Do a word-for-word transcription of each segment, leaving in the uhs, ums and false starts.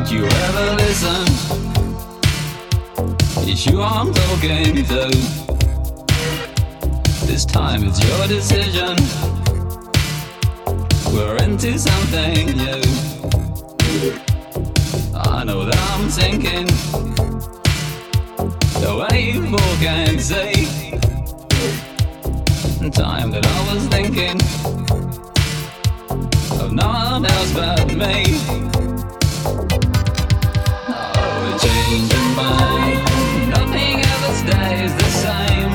Don't you ever listen? It's you I'm talking to. This time it's your decision. We're into something new. I know that I'm thinking the way you walk and say. Time that I was thinking of no one else but me. Oh, we're changing mind. Nothing ever stays the same.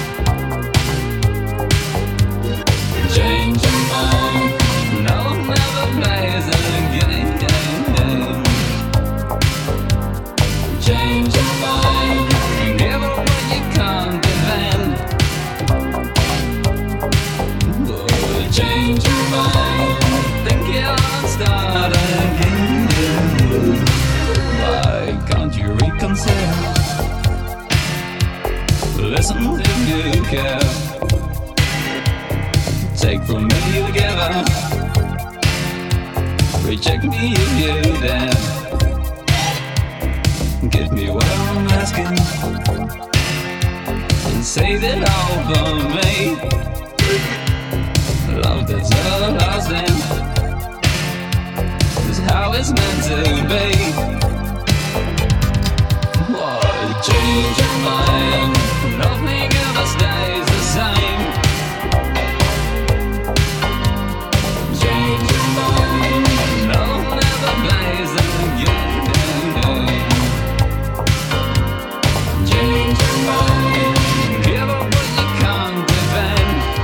Changing mind. No one ever plays a game. Changing mind. Give up what you can't defend. Change your mind. Think you'll start again. Why can't you reconsider? Listen if you care. Take from me together. Reject me if you dare. Give me what I'm asking and save it all for me. Love that's everlasting is how it's meant to be. Why change your mind? Nothing ever stays the same. Change your mind. No one ever plays the game. Change your mind. Give up what you can't defend.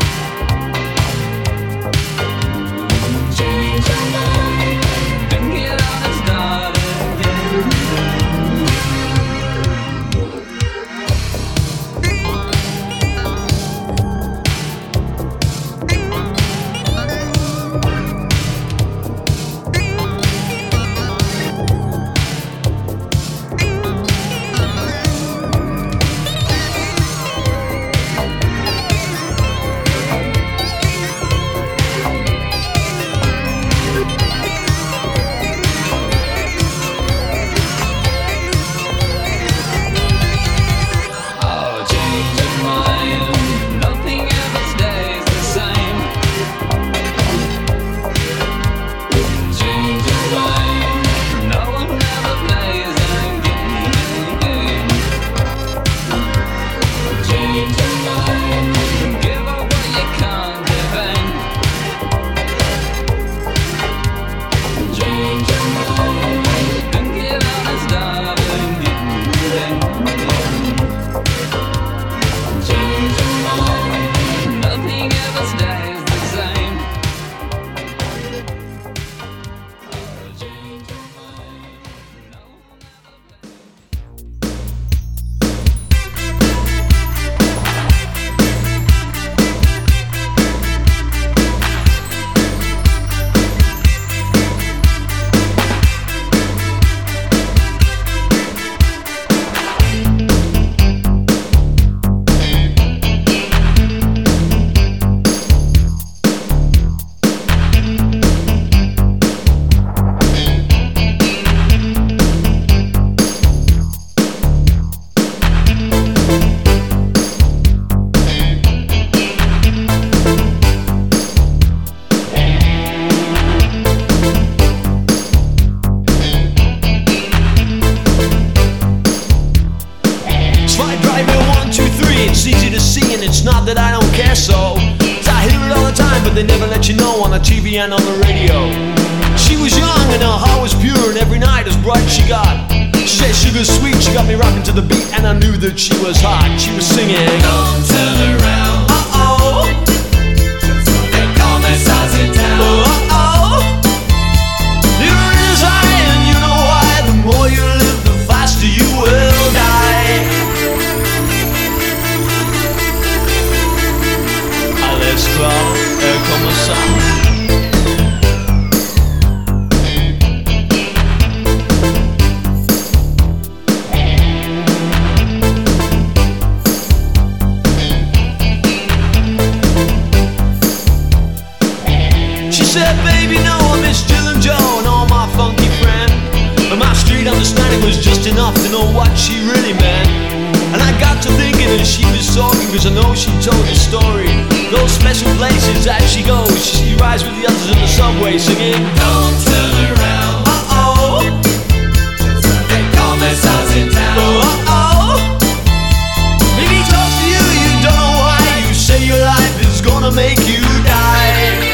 And on the radio, she was young and her heart was pure, and every night as bright as she got. She said sugar's sweet, she got me rocking to the beat, and I knew that she was hot. She was singing, don't turn around, uh-oh, they're coming stars in town, uh-oh, you're in his eye and you know why. The more you live, the faster you will die. Let's go, here comes the sun. Said, baby, no, I miss Jill and Joe and all my funky friends. But my understand it was just enough to know what she really meant. And I got to thinking as she was talking, cause I know she told the story. Those special places that she goes, she rides with the others in the subway singing, don't turn around. Uh-oh. They call me stars in town. Uh-oh. If he talks to you, you don't know why. You say your life is gonna make you die.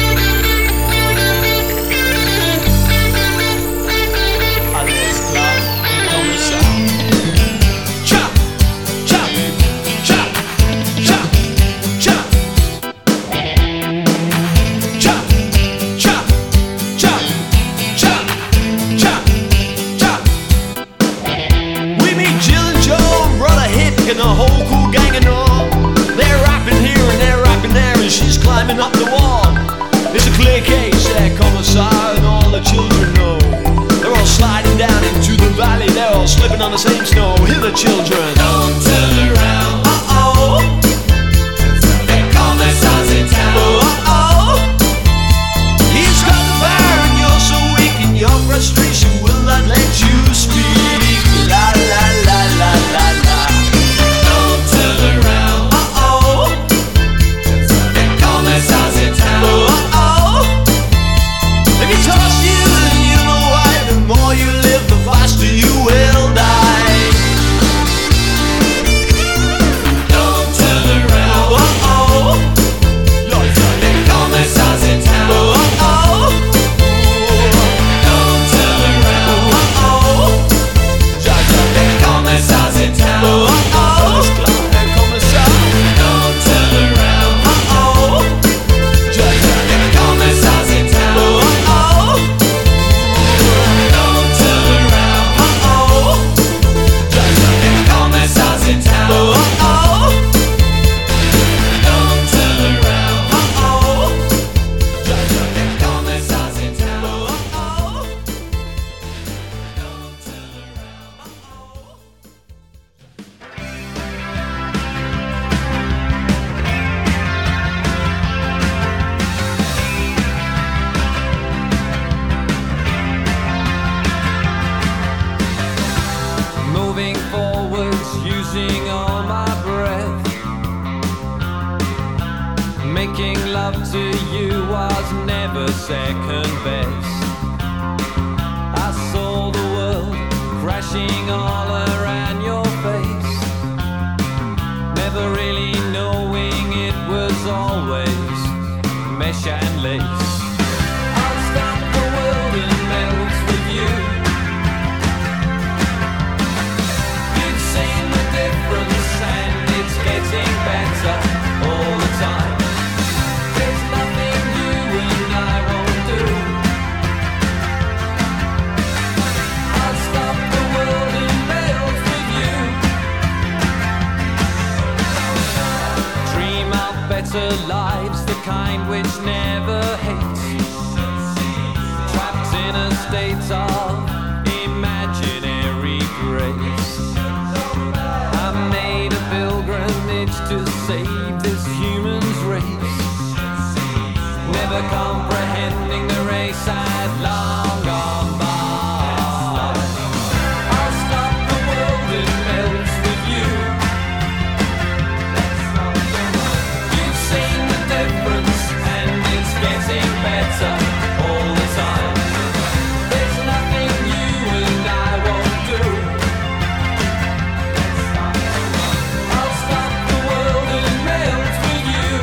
And the whole cool gang and all, they're rapping here and they're rapping there, and she's climbing up the wall. It's a clear case, that commissar and all the children know. They're all sliding down into the valley, they're all slipping on the same snow. Hear the children, don't turn around. Uh-oh. They call me stars in town. Uh-oh. He's got the fire and you're so weak, and your frustration will not let you speak. La la la la la la. Making love to you was never second best. I saw the world crashing all around your face, never really knowing it was always mesh and lace. I'll stop the world and melt with you. You've seen the difference and it's getting better all the time. Better lives, the kind which never hates, trapped in a state of imaginary grace. I made a pilgrimage to save this human's race, never comprehending the race had long gone by. I'll stop the world and melt with you. Getting better all the time. There's nothing you and I won't do. I'll stop the world and melt with you.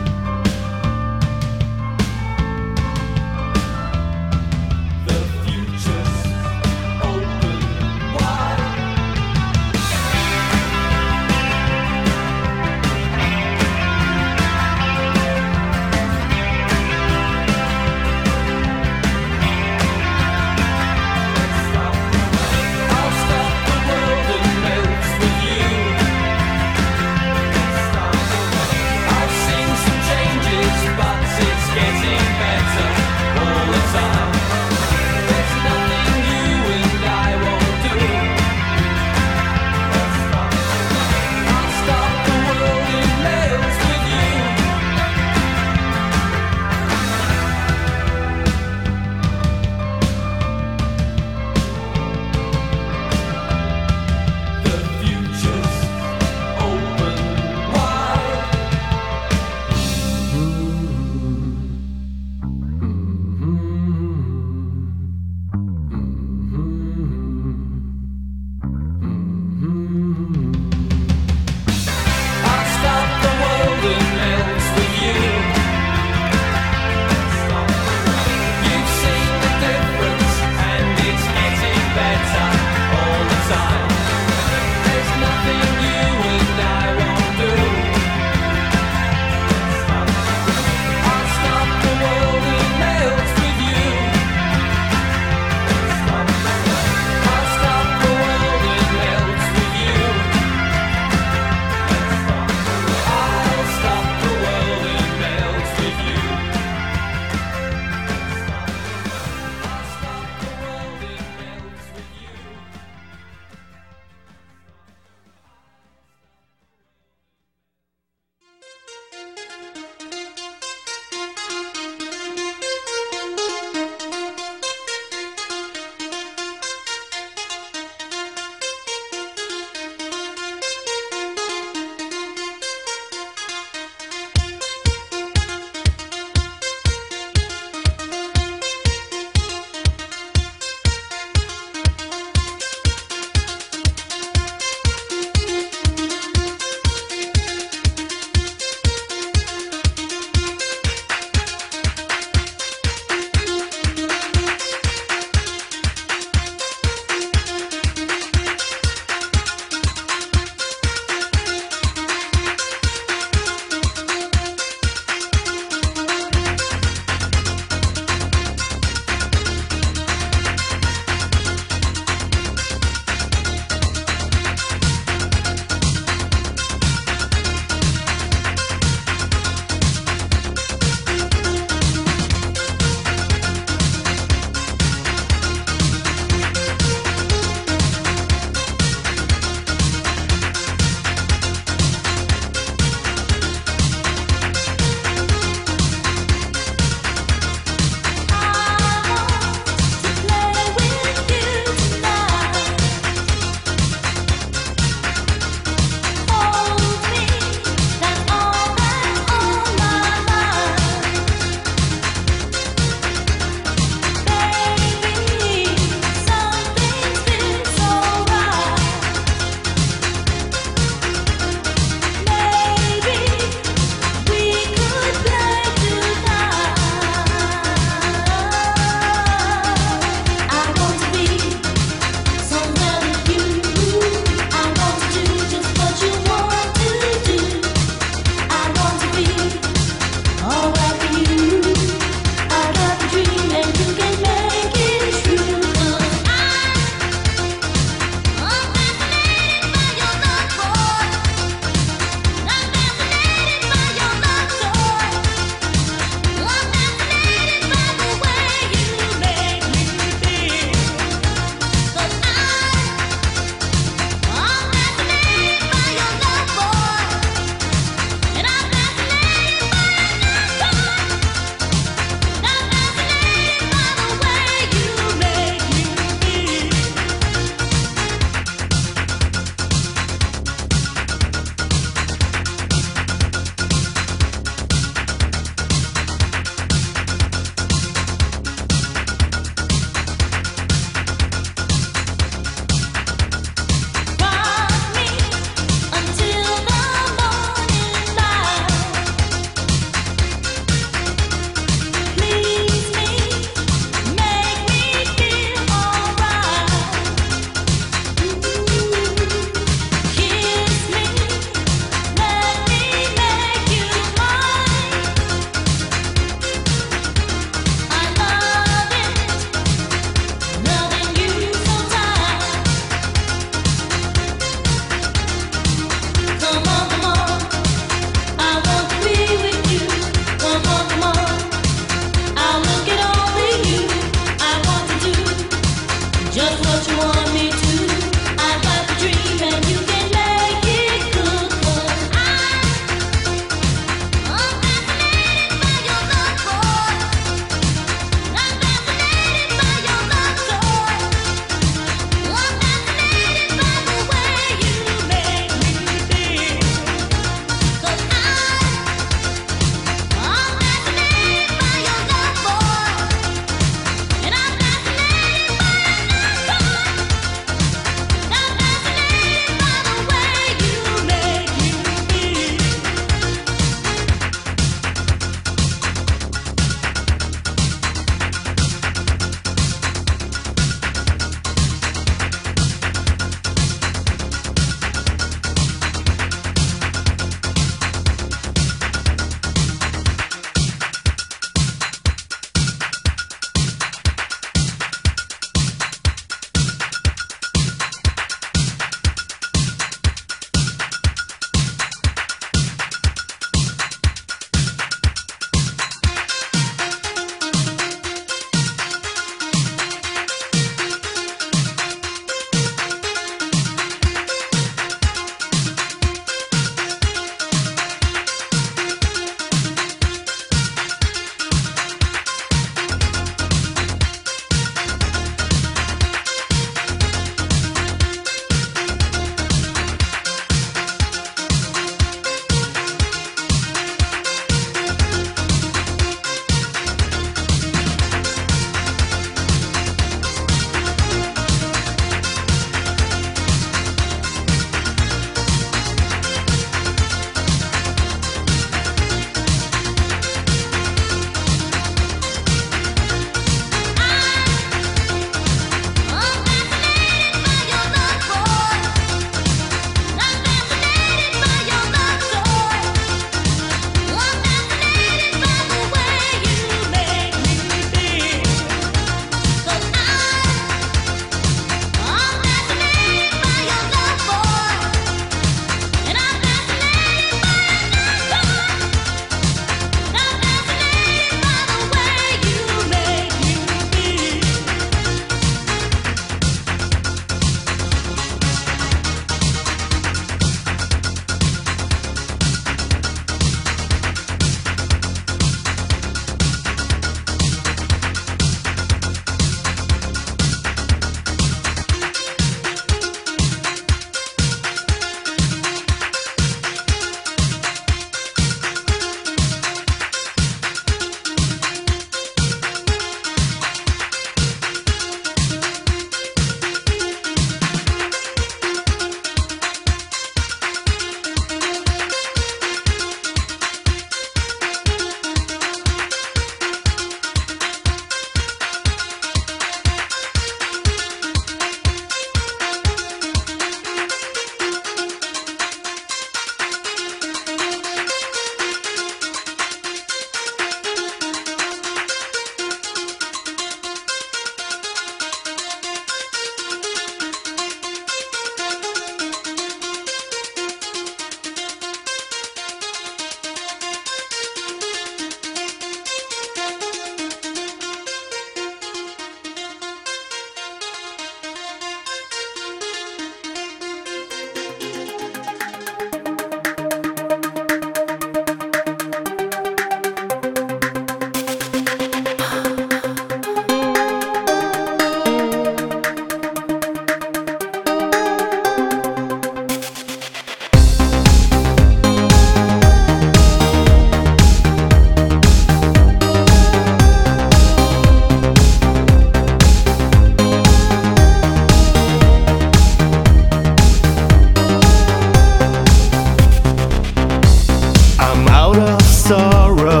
sorrow.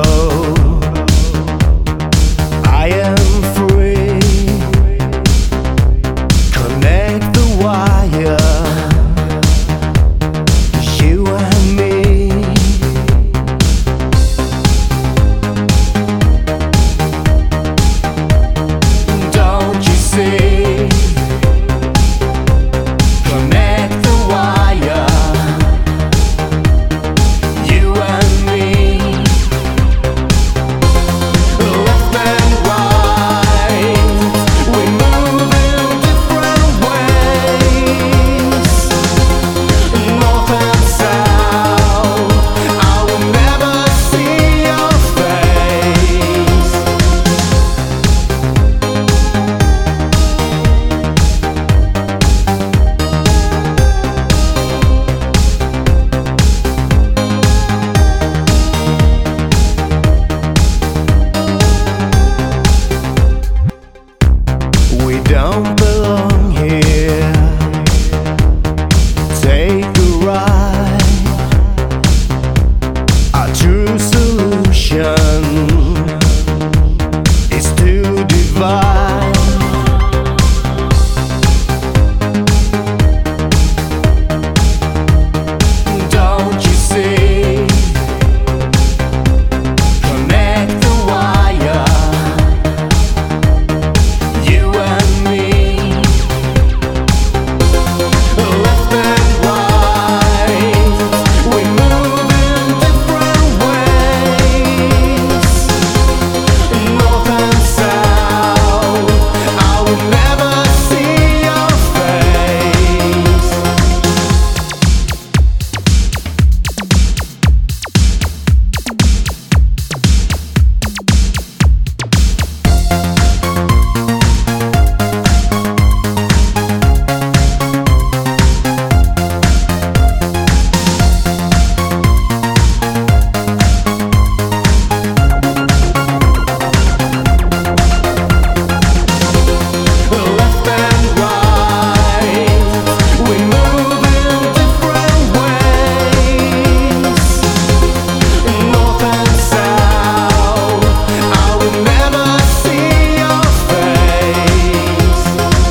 I am free. Connect the wire. You and me. Don't you see? Connect the wire. You and me. Left and right. We move in different ways. North and south. I will never see your face. We don't belong here. Take a ride. Our true solution is to divide. Don't you see? Connect the wire. You and me. Left and right. We move in different ways. North and south. I will never see your face. Left and right. We move in different ways. North and south. I will never see your face.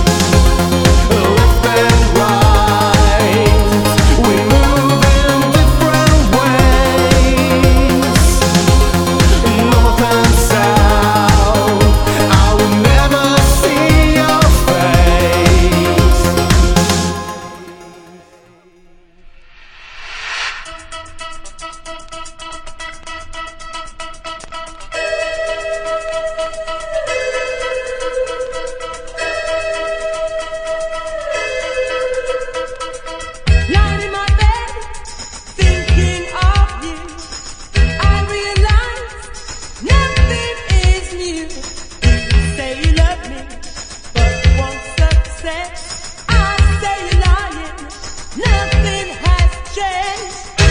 Left and right. We move in different ways. North and south. I will never see your face. Lying in my bed, thinking of you, I realize nothing is new. You say you love me, but won't success. I say you're lying, nothing has changed.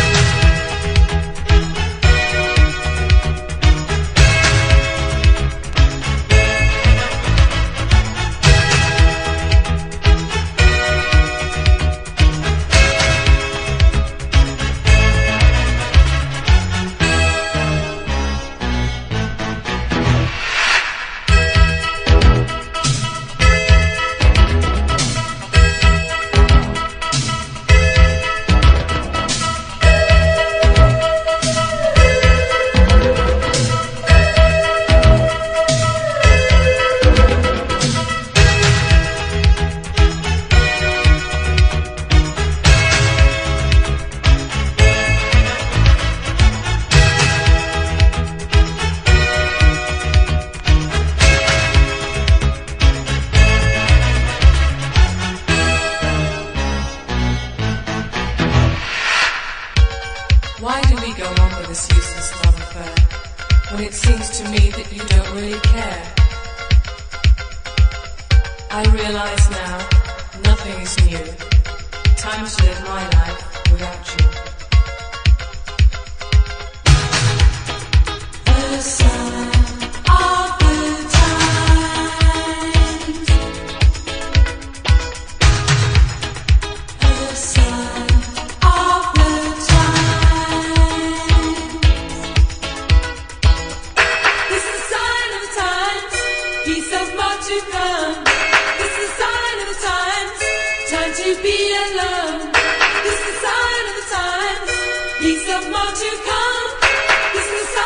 Why do we go on with this useless love affair when it seems to me that you don't really care? I realize now nothing is new. Time to live my life without you. The sun of the times. The sun of the times. to come. This is a sign of the times. Time to be alone. This is a sign of the times. Peace of more to come. This is a sign